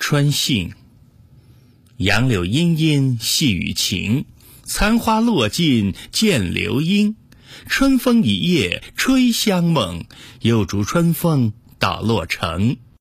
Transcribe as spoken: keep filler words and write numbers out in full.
春信，杨柳阴阴细雨晴，残花落尽见流莺。春风一夜吹香梦，又逐春风到洛城。